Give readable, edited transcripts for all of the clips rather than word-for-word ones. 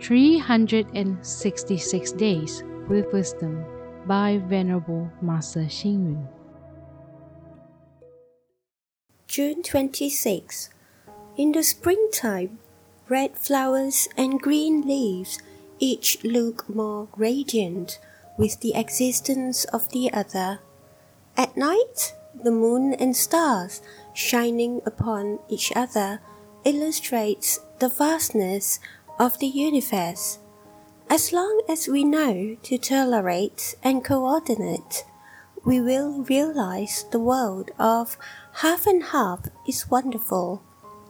366 Days with Wisdom by Venerable Master Xing Yun. June 26. In the springtime, red flowers and green leaves each look more radiant with the existence of the other. At night, the moon and stars shining upon each other illustrates the vastness of the universe. As long as we know to tolerate and coordinate, we will realize the world of half and half is wonderful.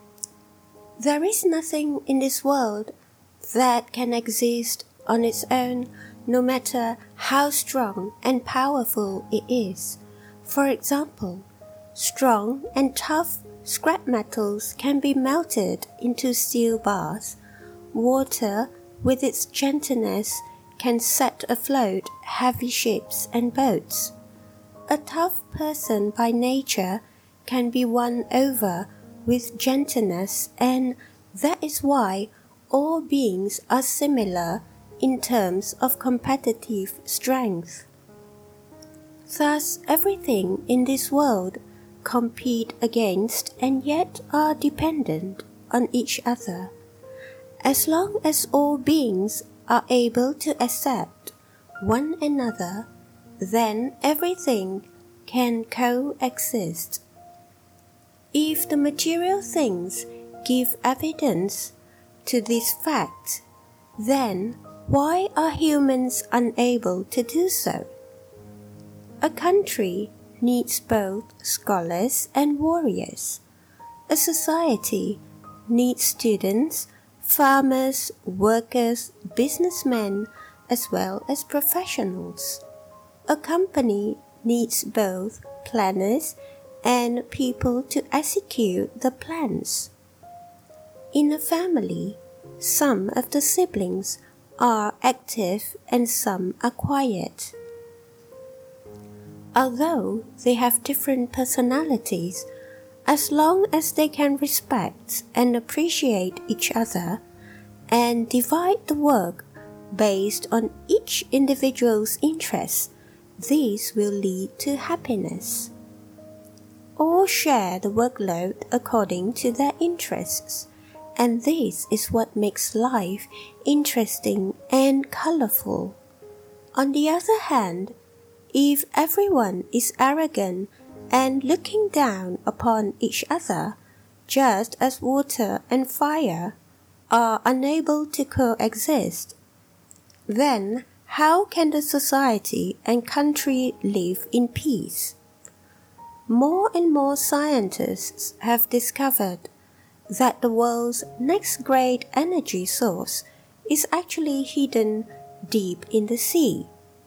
There is nothing in this world that can exist on its own, no matter how strong and powerful it is. For example, strong and tough scrap metals can be melted into steel bars. Water, with its gentleness, can set afloat heavy ships and boats. A tough person by nature can be won over with gentleness, and that is why all beings are similar in terms of competitive strength. Thus, everything in this world compete against and yet are dependent on each other. As long as all beings are able to accept one another, then everything can coexist. If the material things give evidence to this fact, then why are humans unable to do so? A country needs both scholars and warriors. A society needs students, farmers, workers, businessmen, as well as professionals. A company needs both planners and people to execute the plans. In a family, some of the siblings are active and some are quiet. Although they have different personalities, as long as they can respect and appreciate each other and divide the work based on each individual's interests, these will lead to happiness. All share the workload according to their interests, and this is what makes life interesting and colorful. On the other hand, if everyone is arrogant and looking down upon each other, just as water and fire are unable to coexist, then how can the society and country live in peace? More and more scientists have discovered that the world's next great energy source is actually hidden deep in the sea.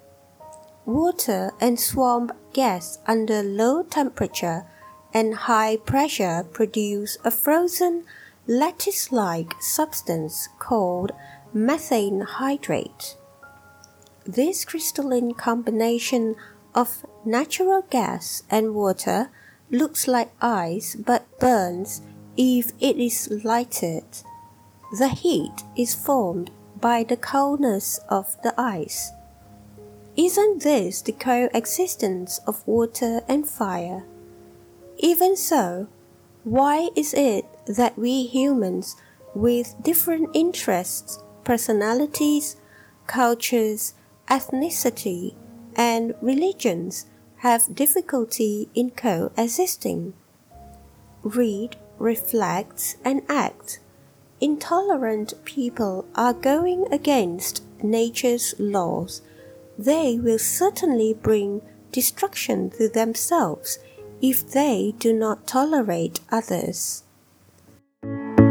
Water and swamp gas under low temperature and high pressure produce a frozen lattice-like substance called methane hydrate. This crystalline combination of natural gas and water looks like ice but burns if it is lighted. The heat is formed by the coldness of the ice. Isn't this the coexistence of water and fire? Even so, why is it that we humans with different interests, personalities, cultures, ethnicity, and religions have difficulty in coexisting? Read, reflect, and act. Intolerant people are going against nature's laws. They will certainly bring destruction to themselves if they do not tolerate others.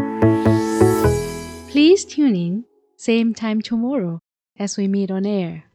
Please tune in, same time tomorrow as we meet on air.